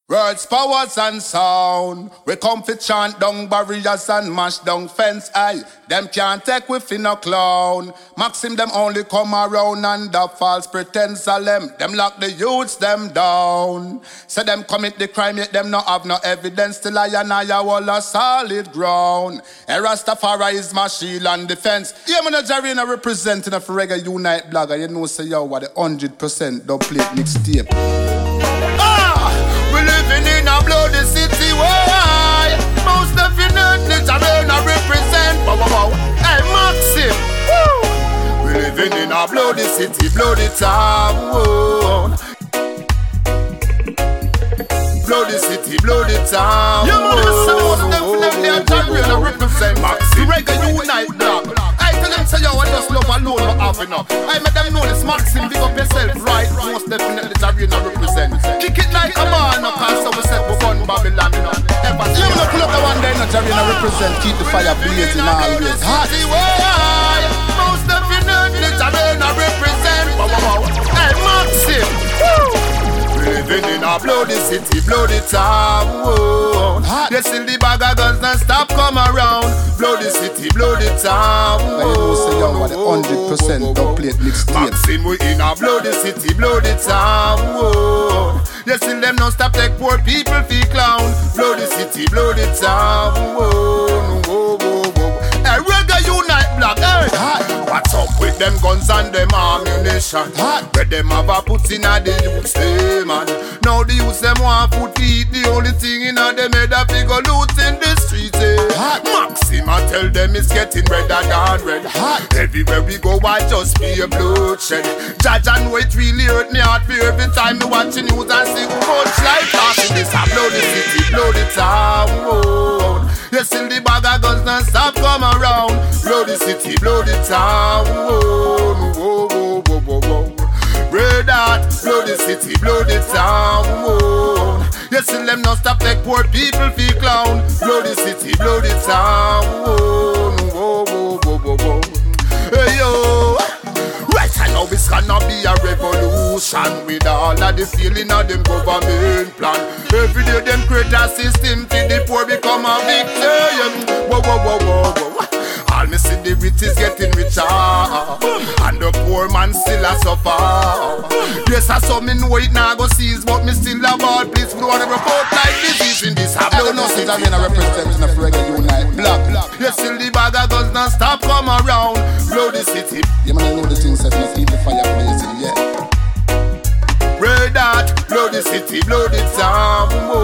Words, powers and sound. We come fi chant down barriers and mash down fence. Aye, them can't take we fi no clown. Maxim them only come around under false pretense. Them lock the youths them down. Say them commit the crime yet them no have no evidence. Till I and I all a solid ground. A Rastafari is my shield and defense. Yeah, man, a Jarena representing of Reggae Unite blogger. You know say yo what the 100% double plate mixtape. We living in a bloody city where most definitely Jarena represent. Hey Maxim, woo! We living in a bloody city, bloody town. Bloody city, bloody town. You know this most definitely a Jarena represent. Maxim, Reggae Unite blog. I tell them say yo, I just love alone not have enough. I make them know this Maxim, big up yourself, right? Most definitely Jarena represent. Kick it like a man, no cause so we set we run Babylon, you know. You look the one day, no Jarena represent. Keep the fire blazing always hot. Most definitely Jarena represent. Hey Maxim, woo! Living in a bloody city, bloody town. You see the bag of guns non stop come around. Bloody city, bloody town. But you know say yo what the 100% double plate mixtape. Maxim we in a bloody city, bloody town. You see them non stop take poor people feel clown. Bloody city, bloody town. Hey, Reggae Unite blog, hey. What's up with them guns and them ammunition? Where them have a put in a the youths, hey man. Now the youths them want food to eat. The only thing in a them head a figure loot in the streets, eh. Maxim I tell them it's getting redder than red. Everywhere we go I just be a bloodshed. Judge and wait really hurt me heart for every time me watching news and see much life passing. This a bloody city, bloody town. You see the bag of guns non stop come around. Bloody city, bloody town. Red Heart, bloody city, bloody town. You see them non stop take poor people feel clown. Bloody city, bloody town. Hey yo. Right now it's gonna be a revolution with all of the feeling of them government plan. Every day them create a system till the poor become a victim. Whoa. All me see the rich is getting richer and the poor man still a suffer. Yes, I saw me know it now go seize, but me still a ball. Please don't wanna report like disease in this. I don't know since I'm in a representation of Reggae Unite blog. You still the bag of guns non stop come around. Bloody city. You man know the things that you keep the fire blazing, yeah. Red Heart, bloody city, bloody town.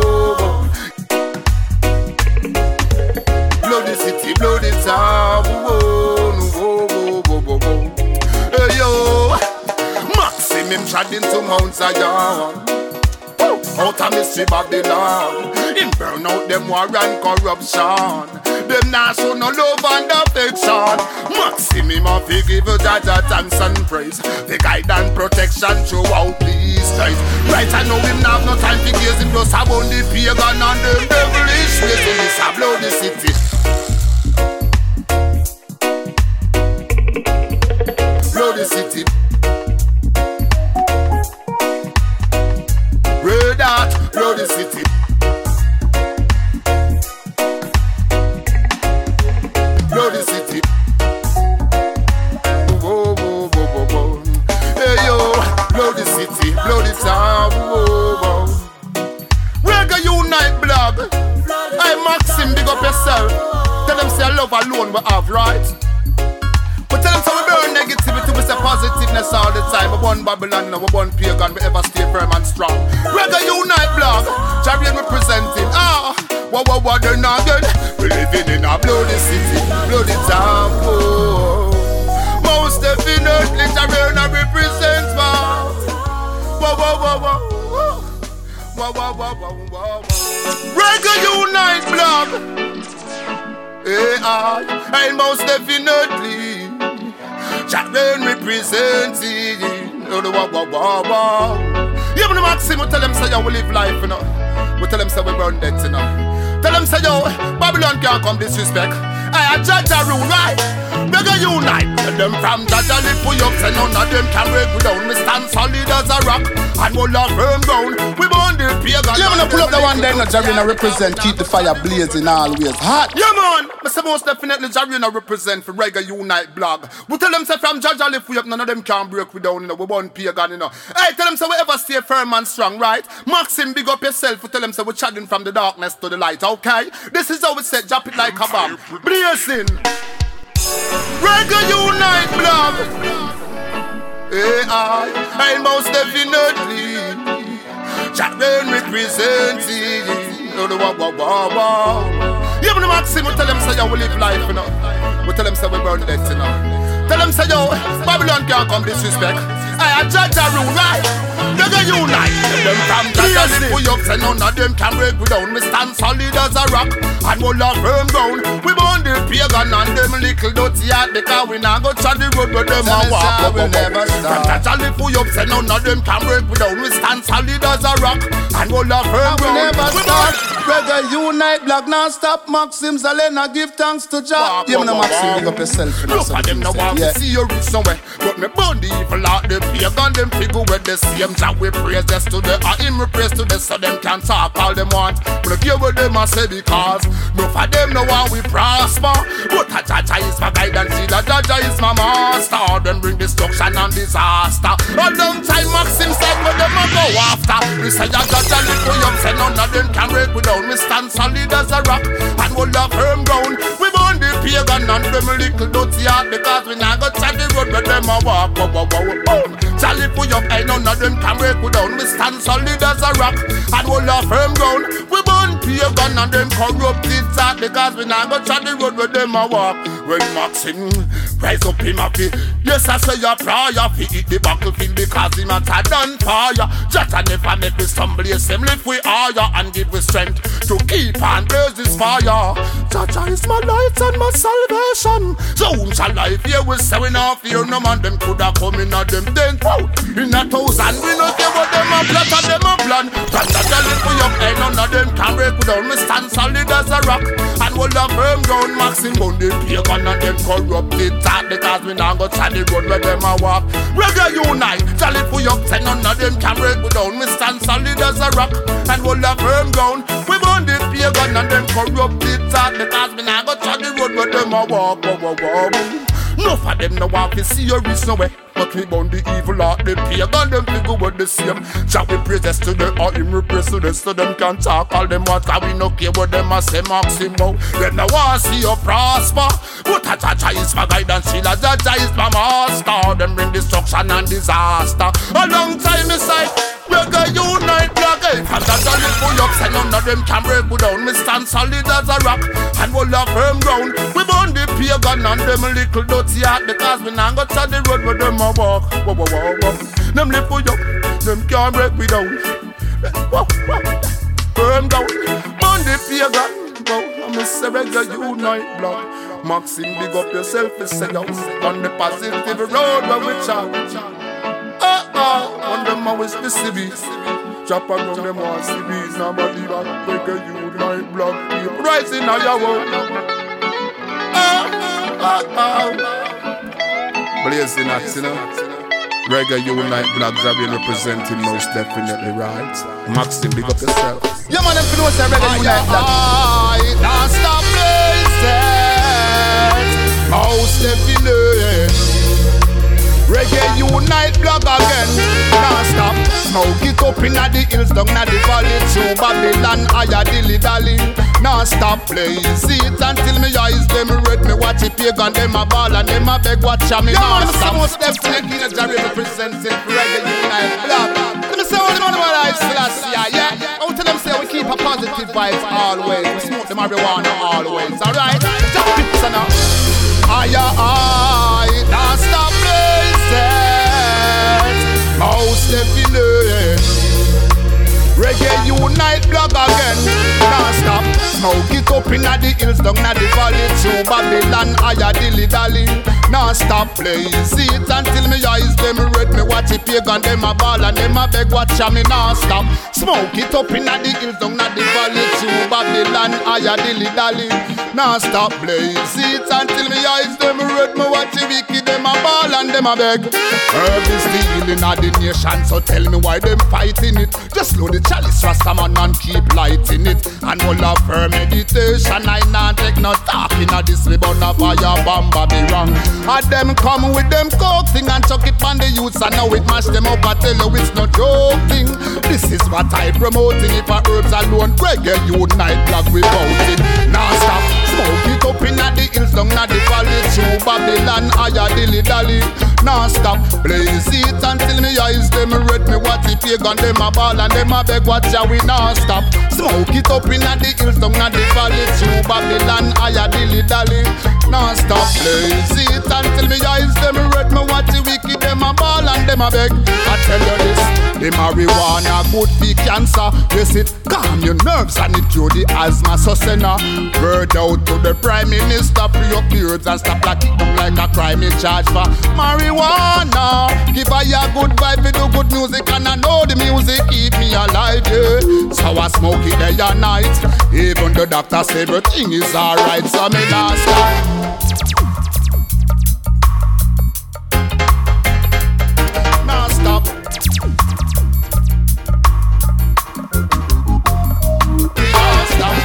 Bloody city, bloody town. Hey yo, Maxim him treading to Mount Zion. Out of mystery Babylon. Him burn out them war and corruption. Them now show no love and affection. Maxim him a fi give Jaja thanks and praise. The guide and protection throughout these days. Right I know him now have no time to gaze him just about the pagan and them devilish ways. In this a bloody city. Bloody city. Red Heart, bloody city. Bloody city. Whoa. Hey yo, bloody city, bloody town. Whoa. Reggae Unite blog. Hey Maxim, big up yourself. Tell them say love alone we have, right? But tell them so we burn negativity, we say positiveness all the time. We born Babylon, we born pagan, we ever stay firm and strong. Reggae Unite blog, Jarena representing. What they're not good. We living in a bloody city, bloody town. Most definitely Jarena represents. Reggae Unite blog. And most definitely Jarena representing. Yeah, but Maxim, we tell them say yo we live life, you know. We tell them say we burn death, you know. Tell them say yo Babylon can't come disrespect. I judge a rule, right? Reggae unite. Tell them from Jaja lift we up, say none of them can break we down. We stand solid as a rock and we'll have firm ground. We born the pagan. Yeah, man, pull up the one there, no Jarina represent, keep the fire blazing always hot. Yeah, man, I say most definitely Jarina represent for Reggae Unite blog. We tell them say from Jaja lift we up, none of them can break we down, you know. We born pagan, you know. Hey, tell them say we ever stay firm and strong, right? Maxim, big up yourself. We tell them say we're chatting from the darkness to the light, okay? This is how we say, drop it like a bomb. Blazing. Reggae Unite blog. I most definitely Jackman representing. Yeah, but the Maxim, we tell them say, yo, we live life, you know. We tell them say we burn death, you know. Tell them say, yo, Babylon can't come disrespect. I judge a rule, right? Reggae Unite. Them from Jaja lift we up, say none of them can break we down. We stand solid as a rock and we'll have firm ground. We born the pagan and them little dirty heart because we not go try the road where them a walk. We never stop. From Jaja lift we up, say none of them can break we down. We stand solid as a rock and we'll have firm ground. We never stop. Reggae Unite blog non-stop. Maxim Zalena give thanks to Jah. Yeah, man, Maxim, big up yourself. Look at them now want to see you reach somewhere, but me burn the evil out the pagan them figure with the same Jah we praise just to the him we praise to the so them can talk all them want. We don't care what them a say because no for them no one we prosper. But a Jaja is my guidance, see that Jaja is my master. Them bring destruction and disaster. A long time Maxim said where them a go after. We say Jaja lift we up, say none of them can break we down. We stand solid as a rock and we'll have firm ground. We born the pagan and them little dirty heart because we not go try the road where them a walk. Charlie put up, ain't none of them can break we down. We stand solid as a rock and we'll have firm ground. We born pagan and them corrupted heart because we not go try the road where them a walk. When Maxim rise up him a fi, yes I say a prayer fi hit the battlefield because him a tad on fire. Jaja never make we stumble, yes him lift we higher and give we strength to keep on blaze this fire. Jaja is my light and my salvation. So whom shall I fear? We say we not fear no man. Them coulda come in a them tent. In a thousand we no care what them a plot and them a plan. From Jaja lift we up, ain't none of them can break we down. We stand solid as a rock and we'll have firm ground. Maxim on the pagan and them corrupted thought because we not go try the road where them a walk. Reggae Unite, Jah lift we up, say none of them can break we down. We stand solid as a rock and we'll have firm ground. We born the pagan and them corrupted thought because we not go try the road where them a walk. No for them no want to see you reach nowhere. But we born the evil heart, the pagan, them figure with the same. Jah we praise to the or him we praise to the so them can talk all them what cause we no care what them a say Maxim bout. Them no want see you prosper. But a Jaja is my guidance, she la Jaja is my master. Them bring destruction and disaster. A long time inside, Reggae Unite blog. From Jaja lift we up, say none of them can break we down. We stand solid as a rock and we'll have firm ground. We born the pagan and them little dirty heart because we not go to the road where them a walk. Them lift we up, them can't break we down. Firm down, born the pagan. I'm a say Reggae Unite blog. Maxim, big up yourself, you say yo. On the positive road where we chat. On them always the cities. Chop around them all cities. Nobody back Reggae Unite blog. Keep rising on your world. Blazing at, you know. Reggae Unite blogs are being representing most definitely, right? Maxim, big up yourself. Yeah, man, them know say Reggae Unite blog. Now stop blazing. Most definitely. Reggae Unite blog again. Now stop. Smoke it up inna the hills, down inna the valley, through Babylon, higher dilly dally. Now stop play, see it until me eyes them red. Me watch it pagan, them a ball and them a beg watch me. Now stop. Most definitely the Jerry representing Reggae Unite blog. Let me say all the man what I still yeah. Out to them say we keep a positive vibes always. We smoke the marijuana always. Alright, just picture now. Aye, now stop blazing. Most definitely Reggae Unite blog again. Now stop. Smoke it up in the hills, down in the valley, through Babylon, higher dilly dally. Now stop play, see it until me eyes them red. Me watch it pagan, them a ball and them a beg. Watch me now stop. Smoke it up in the hills, down in the valley, through Babylon, higher dilly dally. Now stop play, see it until me eyes them red. Me watch it wicked, them a ball and them a beg. Herb is the healing of the nation, so tell me why them fighting it. Just load the chalice, Rastaman, and keep lighting it. And all of her meditation, I not take no talking of this. We burn a fire bomb, be wrong. And them come with them coke thing and chuck it on the youths, and now it mash them up. I tell you it's no joking. This is what I promoting. If a herbs alone, reggae unite, blog without it. Now stop, smoke it up in the hills, down in the valley, through Babylon, higher dilly dally. Now stop, blaze it until me eyes them red. Me watch it pagan, them a ball and them a beg. Watch ya, we now stop. Smoke it up in the hills, down in the valley, through Babylon, higher dilly dally. Now stop, blaze it until me eyes them red. Me watch it wicked, them a ball and them a beg. I tell you this, the marijuana good for cancer. Yes, it calm your nerves and it cure the asthma. So send a word out to the Prime Minister, free up the herbs and stop locking them like a crime in charge for marijuana. Give I a good vibe, we do good music, and I know the music keep me alive, yeah. So I smoke it day and night, even the doctor say everything is alright. So me not stop. Now stop. Now stop.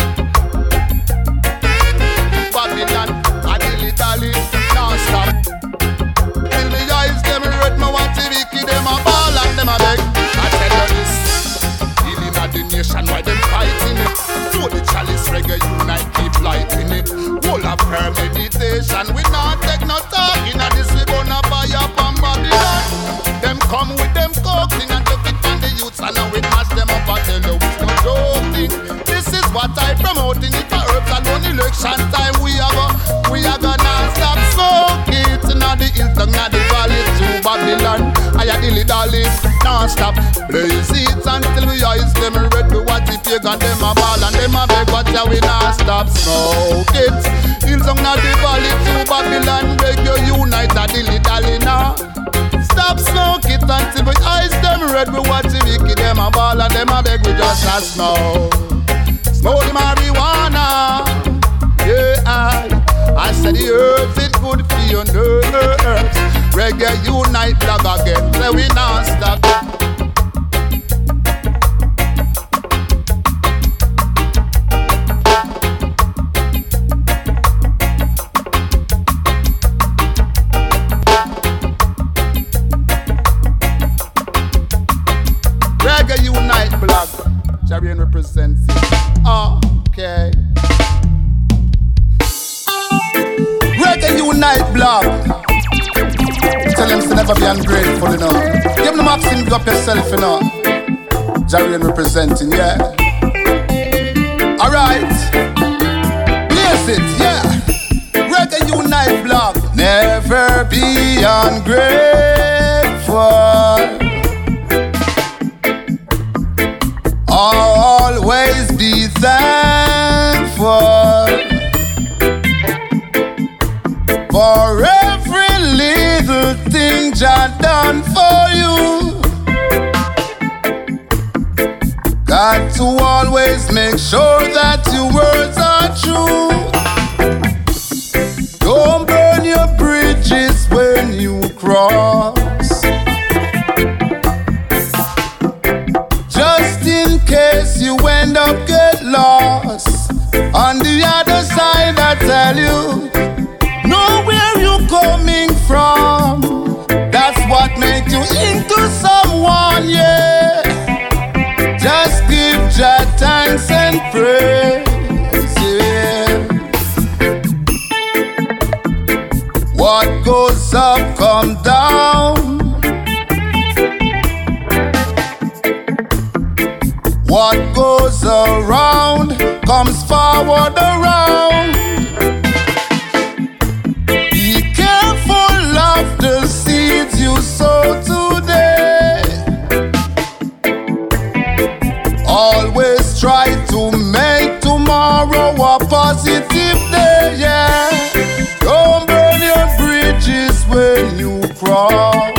Babylon, I dilly dally. Now stop. Till the eyes them red, me want to wicked, them a ball and them a beg. I tell you this, healing of the nation, why them fighting it? Throw the chalice, reggae unite, keep lighting it. Whole of her meditation, we not take no talking, and this we gonna buy up on Babylon. Them come with them coking and took it from the youths, and now we mash them up and tell you it's no joking. This is what I promoting. If a herbs alone election time, we are gonna stop smoking. Now the hills, down the valley, through Babylon, higher dilly dally. Now stop, blaze it until we eyes them red. We watch it pagan, them a ball and them a beg. Watch ya, we not stop smoke it. Hills down the valley, through Babylon, reggae unite, a dilly dally now. Stop smoke it until we eyes them red. We watch it wicked, them a ball and them a beg. We just a smoke, smoke the marijuana. Yeah, I said the herbs, it good for your nerves. Reggae unite, blog again, so we not stop. Reggae unite, blog. Jarian represents it. Okay. Reggae unite, blog. Tell them to never be ungrateful, you know. Give them Maxim, big up yourself, you know. Jarian representing, yeah. Alright. Blaze it, yeah. Reggae unite, blog. Never be ungrateful. Always be thankful for every little thing Jah done for you. Got to always make sure that your words are true. Don't burn your bridges when you cross. Just in case you end up get lost. On the other side I tell you, know where you coming from. That's what made you into someone, yeah. Just give Jah thanks and praise, yeah. What goes up come down. What goes around comes forward around. Be careful of the seeds you sow today. Always try to make tomorrow a positive day, yeah. Don't burn your bridges when you cross.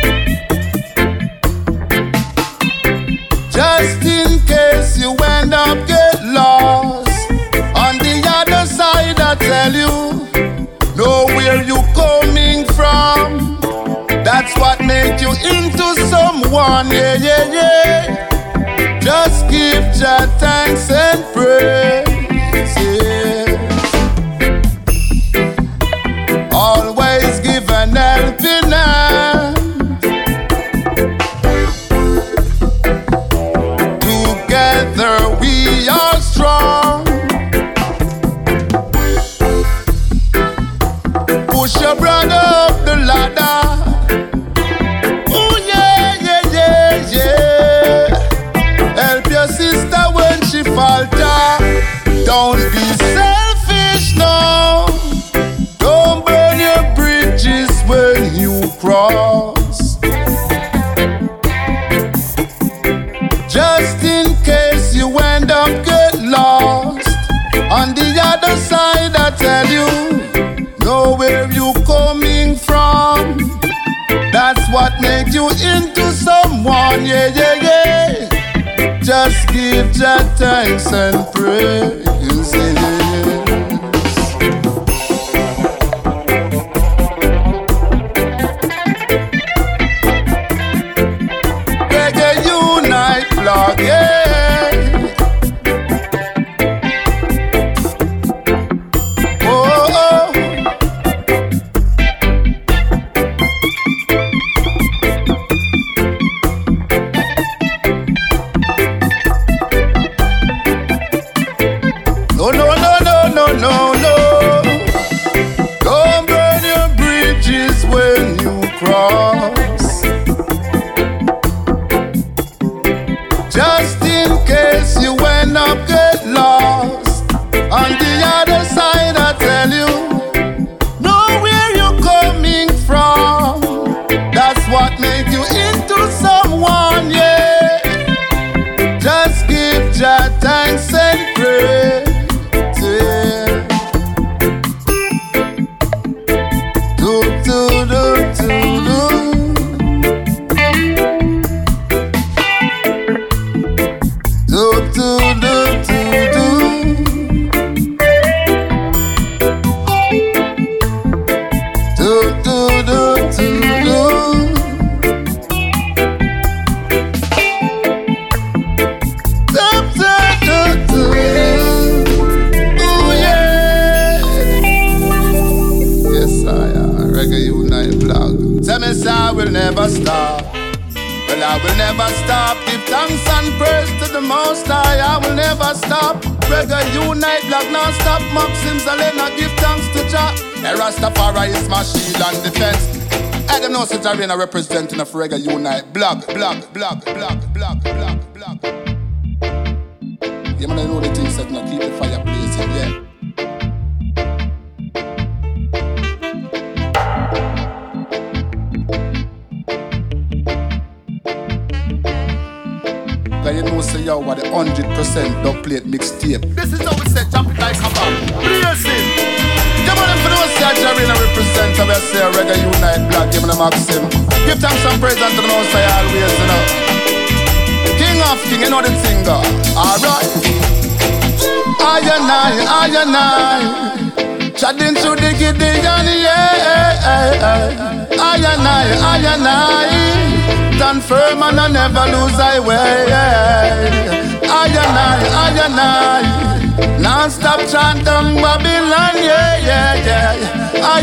Just in case you end up get lost. On the other side, I tell you, know where you coming from. That's what make you into someone, yeah, yeah, yeah. Just give Jah thanks and praise, yeah. Always give an helping hand. Together we are strong. Push your brother up the ladder. Oh yeah, yeah, yeah, yeah. Help your sister when she falter. Don't be selfish, no. Don't burn your bridges when you cross. Just in case you end up get lost. On the other side, I tell you, know where you coming from. That's what makes you into someone, yeah, yeah, yeah. Just give Jah thanks and praise, yes. Reggae Unite blog, yeah. Just in case you end up get lost. On the other side, I tell you, know where you're coming from. That's what makes you into someone, yeah. Just give Jah thanks and praise, yeah. Do, do, do, do, do. I will never stop. Well, I will never stop. Give thanks and praise to the Most High. I will never stop. Reggae Unite blog non-stop. Maxim Zalena give thanks to Jah. Rastafari is my shield and defense. I don't know since I representing of Reggae Unite blog. Yeah, man, I know the things that not keep the fire blazing, yeah. You know, say yo, what the 100% dub plate mixtape. This is how we say jump it like a bomb. Blazing. Give me them for those say Jarena represent. I will say Reggae Unite blog. Give me the Maxim. Give thanks and praise unto the Most High always, you know. King of King, you know the singer. Alright. I and I. Chatting through the Gideon, yeah. I and I. Stand firm and I never lose my way. I and I. Non-stop chant on Babylon, yeah. I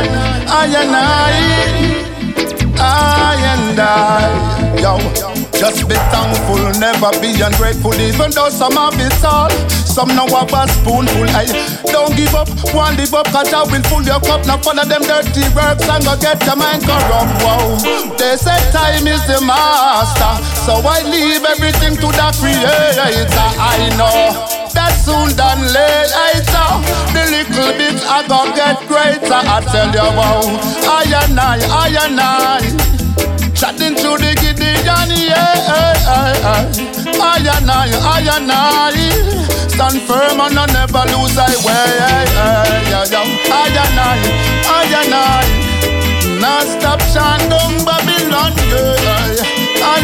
and I. Yo, just be thankful, never be ungrateful. Even though some have it all, some now have a spoonful. Hey, don't give up, one live up, cause I will fill your cup. Now follow them dirty works and go get your mind corrupt. Wow, they say time is the master, so I leave everything to the Creator. I know that soon than later, the little bit I go get greater. I tell you, wow, I and I. Chatting through the Gideon, yeah. I and I stand firm and I never lose I way. I and I not stop shine down Babylon. I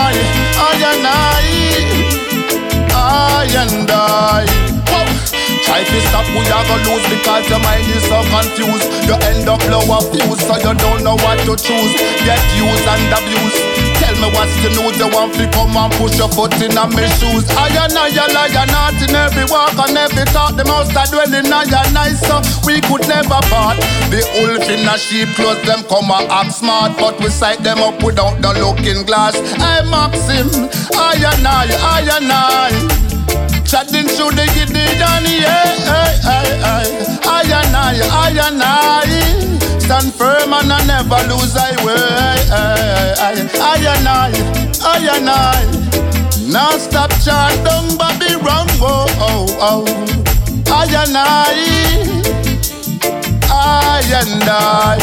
and I. Try to stop, we are gonna lose because your mind is so confused. You end up low of views, so you don't know what to choose. Get used and abused. Tell me what's the news, you want to come and push your foot in my shoes. I and I, you lie and not in every walk and every talk. The most I dwell in I and I, so we could never part. The wolf in a sheep clothes, them come and act smart, but we sight them up without the looking glass. I Maxim, I and I. Chatting through the Gideon, I and I stand firm and I never lose I way. I and I now stop chant down Bobby wrong. I and I.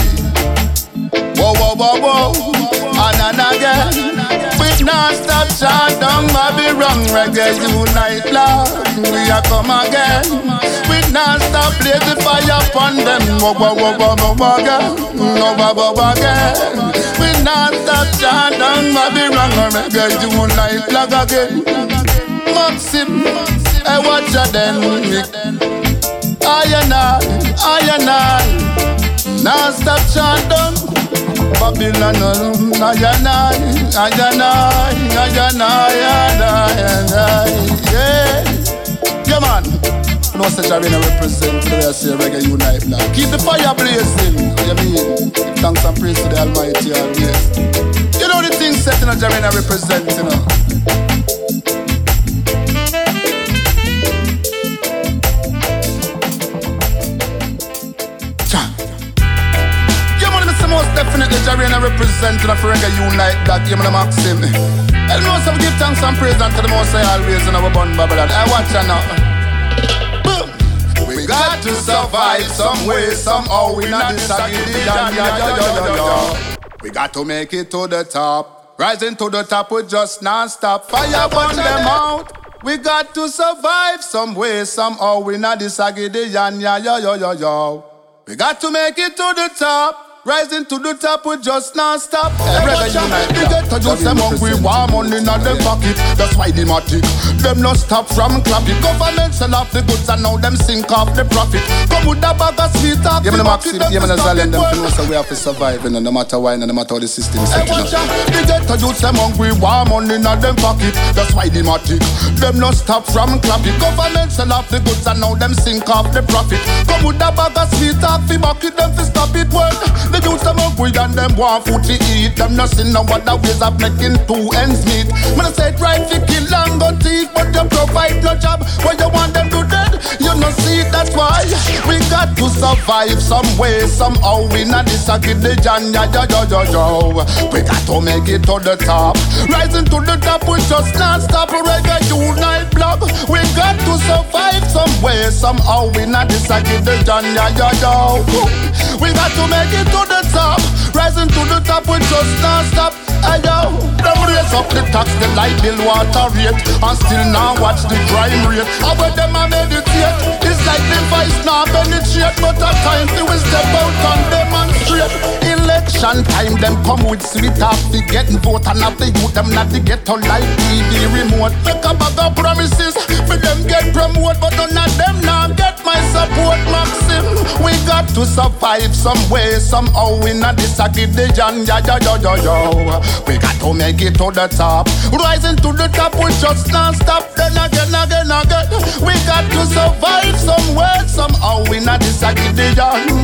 Whoa. And again, we not stop chant down Bobby wrong. Reggae unite love, we are come again. We not stop blaze the fire upon them. Again. We not stop chant down Bobby wrong. Reggae unite love again. Maxim, I watch ya then. I and I. Now stop chant down Babylon, yeah man, no such arena represent the rest of Reggae Unite now. Keep the fire blazing, what you mean? Give thanks and praise to the Almighty always. You know the things set in a arena represent, you know. Most definitely Jarena representing a Reggae Unite that give me the Maxim. And most of give thanks and praise unto the Most High always in our bun Babylon. I watch her now. Boom. We got to survive some way, somehow. We not disagree. We got to make it to the top. Rising to the top, we just non-stop. Fire burn them out. We got to survive some way, somehow. We not disagree. We got to make it to the top. Rising to the top, we just non-stop. Reggae Unite. They get to use them hungry, warm money in their pocket. That's why they matic. Them no stop from clapping. Government sell off the goods and now them sink off the profit. Come with a bag of sweet talk. Give me the Maxim, give me the Zalem. Them know so we have to survive, no matter why, no matter how the system is set up. They get to use them hungry, warm money in their pocket. That's why they matic. Them no stop from clapping. Government sell off the goods and now them sink off the profit. Come with a bag of sweet talk, fi bucket them fi stop it well. The youths them hungry and them want food to eat. Them not see no other ways of making two ends meet. Man I say right to kill and go thief, but you provide no job. Where you want them to dead, you no see it. That's why we got to survive some way, somehow. We not disagree the John, We got to make it to the top. Rising to the top, we just not stop. Reggae Unite blog. We got to survive some way, somehow. We not disagree the John, We got to make it to the top. Rising to the top, we just not stop. Ayo, them raise up the tax, the light bill, water rate, and still now watch the crime rate. And when them a meditate, it's like the vice now penetrate. But at times they will step out and demonstrate. Election time, them come with sweet talk. They getting vote and have the youth, them not to get on like TV remote. Make a bag of promises, for them get promote, but none of them now get my support. Maxim, we got to survive some way, somehow. We not disagree the John, We got to make it to the top. Rising to the top, we just non-stop. Then again. We got to survive somewhere, somehow. We not disagree the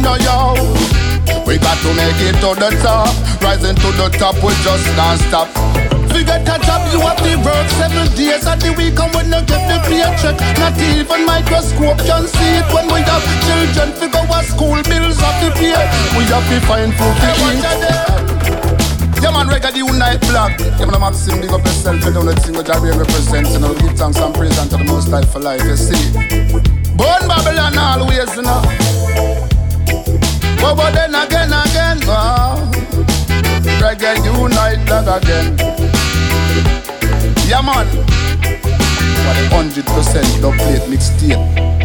We got to make it to the top. Rising to the top, we just non-stop. If you get a job, you have to work 7 days of the week. And when you get the paycheck, not even microscope can see it. When we have children, we go to school, bills have to pay. We have to find food to eat. Yeah man, Reggae Unite blog. Yeah man, Maxim, big up yourself. You don't let thing what Jarena represents. You know, give thanks and praise unto the Most High for life, you see. Born Babylon always, you know. But then again, Reggae Unite blog again. Yeah man, 100% dub plate mixtape.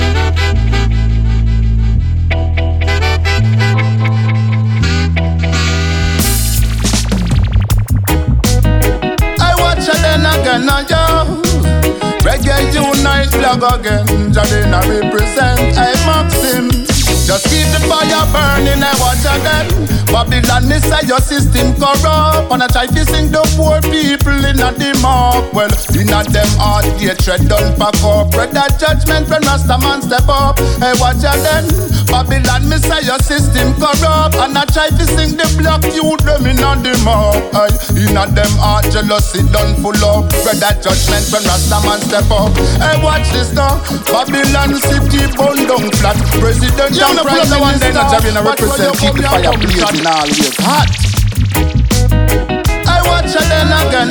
Again, yo. Reggae Unite blog again. Jadena represent, hey Maxim. Just keep the fire burning and watch again. Babylon, me say your system corrupt. And I try to sing the poor people in a the mob. Well, in a them heart, hatred done pack up. Read that judgment when Rasta man step up. Hey, watch again. Babylon, me say your system corrupt. And I try to sing the black youth them in a the mob. Hey, in a them heart, jealousy done full up. Read that judgment when Rasta man step up. Hey, watch this now. Babylon city burn down flat. President and Prime Minister, represent, keep the fire blazing always hot. I watch it then again,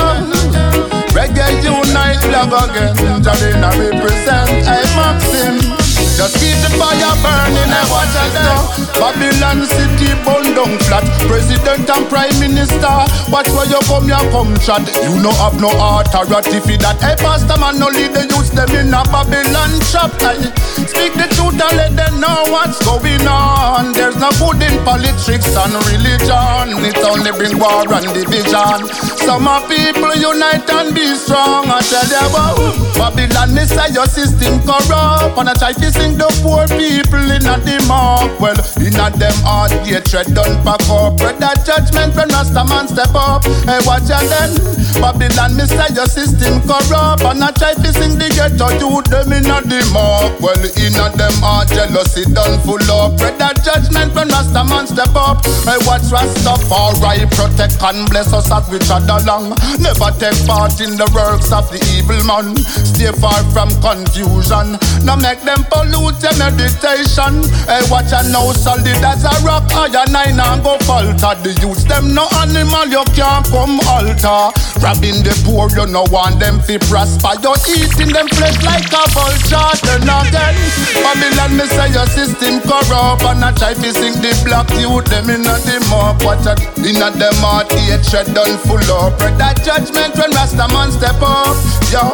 yo. Reggae Unite blog again. Jadena represent, hey Maxim. Just keep the fire burning and watch us now. Babylon city burn down flat. President and Prime Minister, watch where you come, you come chat. You no have no authority for that. Hey pastor man, no lead the youth them in a Babylon shop. Speak the truth and let them know what's going on. There's no good in politics and religion. It only bring war and division. Some people unite and be strong. I tell you about Babylon, me say your system corrupt. And I try to sing the poor people in a the mob. Well, in a them heart, hatred done pack up. Read that judgment when Rasta man step up. Hey, watch ya then. Babylon, me say your system corrupt. And I try to sing the ghetto youth them in a the mob. Well, in a them heart, jealousy done full up. Read that judgment when Rasta man step up. Hey, watch Rastafari protect and bless us as we trod along. Never take part in the works of the evil man. Stay far from confusion. Now make them pollute your meditation. Hey, watch and now solid as a rock. Iron nine and go falter. The youths them no animal you can't come alter. Robbing the poor you no want them to prosper. You eating them flesh like a vulture. Then again, Babylon me say your system corrupt. And I try to sing the black youth them in a the mob. Watch it in a them heart hatred done full up. Read that judgment when Rasta man step up. Yo,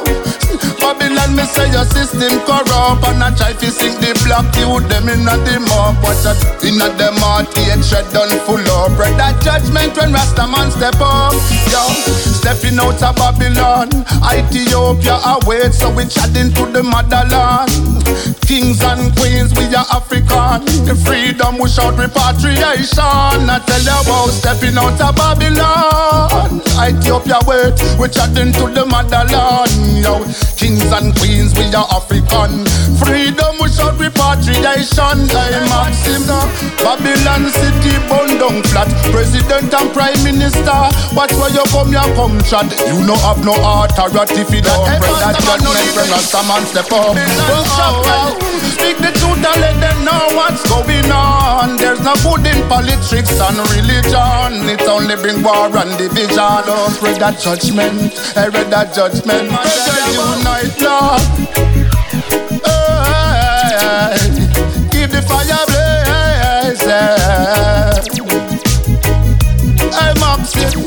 Babylon me say your system corrupt. And I try to sing the black youth them in a the mob. Watch it in a them heart hatred done full up. Read that judgment when Rasta man step up. Yo, stepping out of Babylon, Ethiopia await, so we chatting to the motherland. Kings and queens, we are African. The freedom we shout repatriation. I tell you about stepping out of Babylon, Ethiopia wait, we chatting to the motherland. Yo, kings and queens, we are African. Freedom we shout repatriation. I'm Maxim. Babylon city burn down flat. President and Prime Minister, watch where you come chat. You no have no authority for that. Spread that judgment when Rasta man step up. Speak the truth and let them know what's going on. There's no good in politics and religion. It only bring war and division. Oh, spread that judgment, I read that judgment. Unite, Lord. Keep the fire blazing. I'm Maxim.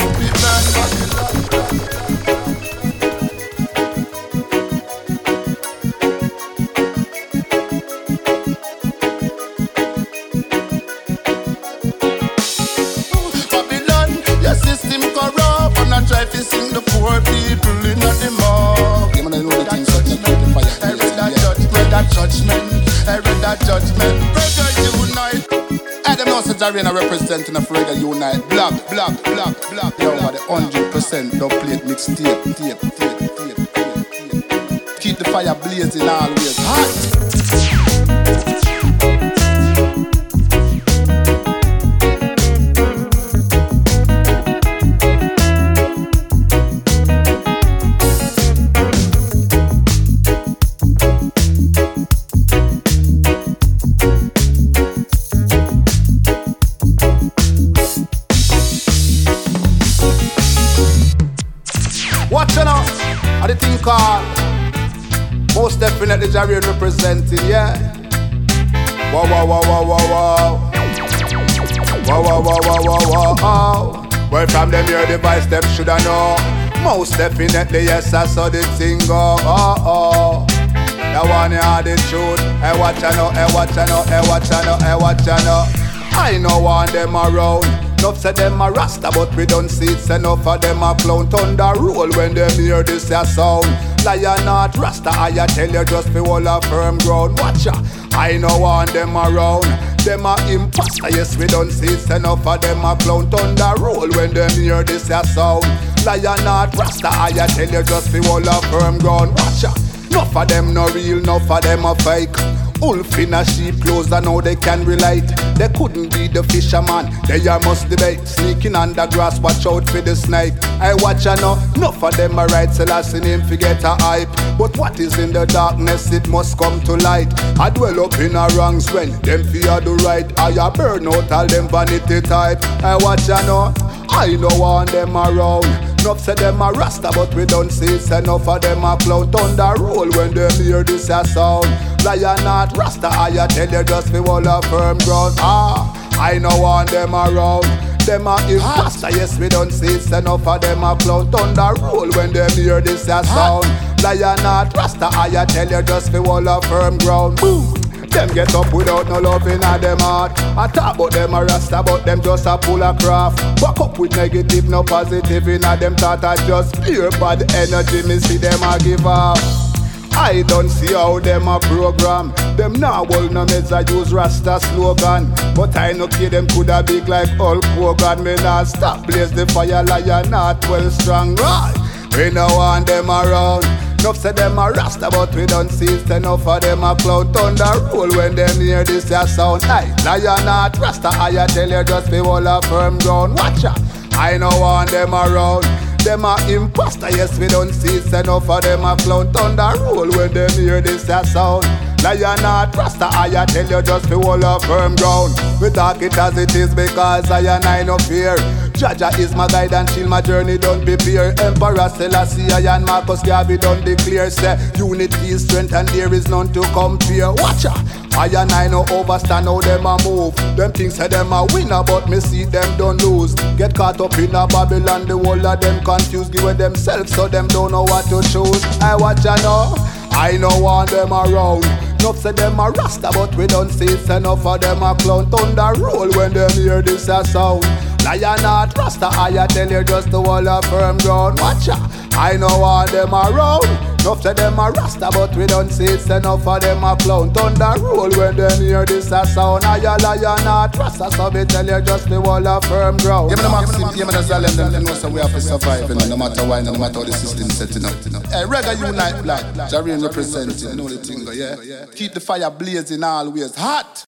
Try to sing the poor people in the mob. I read that judgment. I read that judgment. Reggae Unite. Adam Nelson Jarena representing of Reggae Unite. Black. Yo, the 100% dub plate mixtape. Keep the fire blazing always hot. Most definitely Jarian representing, yeah. Wow. Where from them hear the voice, them shoulda know. Most definitely, yes, I saw the thing go. Oh. The one you the truth. Hey, watch ya know, hey, watch ya know, hey, watch ya know, hey, watch ya know. I know want them around. Enough say them a rasta, but we don't see it. Enough of them a clown. Thunder roll when them hear this a sound. Lion not rasta, I tell you just be hold a firm ground. Watch ya, I know want them around. Them a imposter, yes we don't see it. Enough of them a clown. Thunder roll when them hear this a sound. Lion not rasta, I tell you just be hold a firm ground. Watch ya, enough of them no real, enough of them a fake. Wolf in a sheep clothes, I know they can relate. They couldn't be the fisherman, they are must debate. Sneaking under grass, watch out for the snake. I watch ya know, enough of them a right, so I seen him forget a hype. But what is in the darkness, it must come to light. I dwell up in a wrongs when them fear the right. I a burn out all them vanity type. I watch ya know, I know want them around. Enough say them a rasta, but we don't see it. Enough of them a clown. Thunder roll when them hear this a sound. Lion not rasta, I tell you just be hold a firm ground. I know want them around. Them a imposter, yes we don't see it. Enough of them a clown. Thunder roll when them hear this a sound. Lion not rasta, I tell you just be hold a firm ground. Boom. Them get up without no love in them heart. I talk about them a rasta, but them just a pull a craft. Back up with negative, no positive in them thought. I just pure bad energy, me see them a give up. I don't see how them a program. Them now hold no meds, I use rasta slogan. But I no care them coulda big like Hulk Hogan. Me not stop blaze the fire, lion not well strong. Right, we no want them around. Enough say them a rasta, but we don't see it. Enough of them a clown. Thunder roll when them hear this a sound. Aye, lion not rasta, I tell you just be hold a firm ground. Watch ya, I no want them around. Them a imposter, yes we don't see it. Enough of them a clown. Thunder roll when them hear this a sound. Lion not rasta, I tell you just be hold a firm ground. We talk it as it is because I no fear. Jaja is my guide and chill my journey, don't prepare. Emperor Selassie and Marcus Garvey don't declare. Say unity is strength and there is none to compare. Watch ya, I no overstand how them a move. Them things say them a winner, but me see them don't lose. Get caught up in a Babylon, the whole of them confused. Give themselves so them don't know what to choose. I watch ya know, I no want them around. Enough say them a rasta, but we don't see it. Enough of them a clown. Thunder roll when them hear this a sound. Lion not rasta, I tell you just to hold a firm ground. Watch ya, I know want them around. Enough say them a rasta, but we don't see it. Enough of them a clown. Thunder roll when them hear this a sound. I a lion not rasta, so me tell you just to hold a firm ground. Yeah, me the Maxim, yeah, me the Zalem, them know so we have to survive, you know, no matter why, no matter how the system setting up, you know. Hey, Reggae Unite Black, Jarian representing, you know the thing, yeah. Keep the fire blazing always hot.